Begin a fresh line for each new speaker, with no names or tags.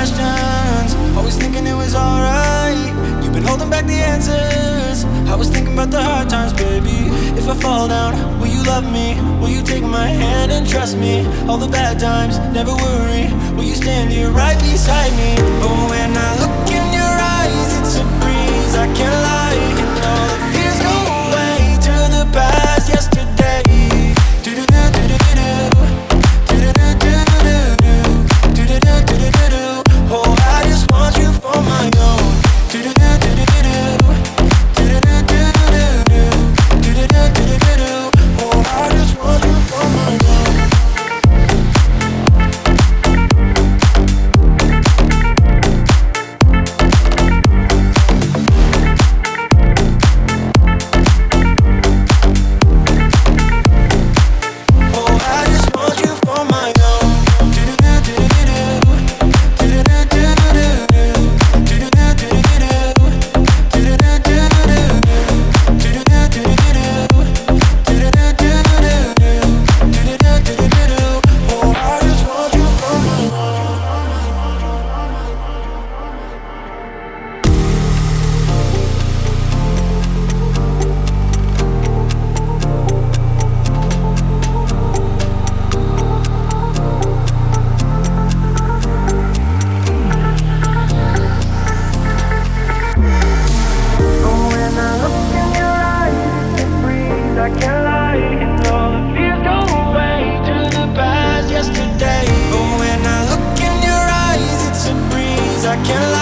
questions, always thinking it was alright. You've been holding back the answers. I was thinking about the hard times, baby. If I fall down, will you love me? Will you take my hand and trust me? All the bad times, never worry. Will you stand here right beside me? Oh, when I look in your eyes, it's a breeze, I can't lie. And all the fears go away to the past yesterday. Oh, I just want you for my own. Oh, I just want you for my own. Oh, I just want you for my own. I can't lie, and all the fears go away to the past yesterday. Oh, when I look in your eyes, it's a breeze, I can't lie.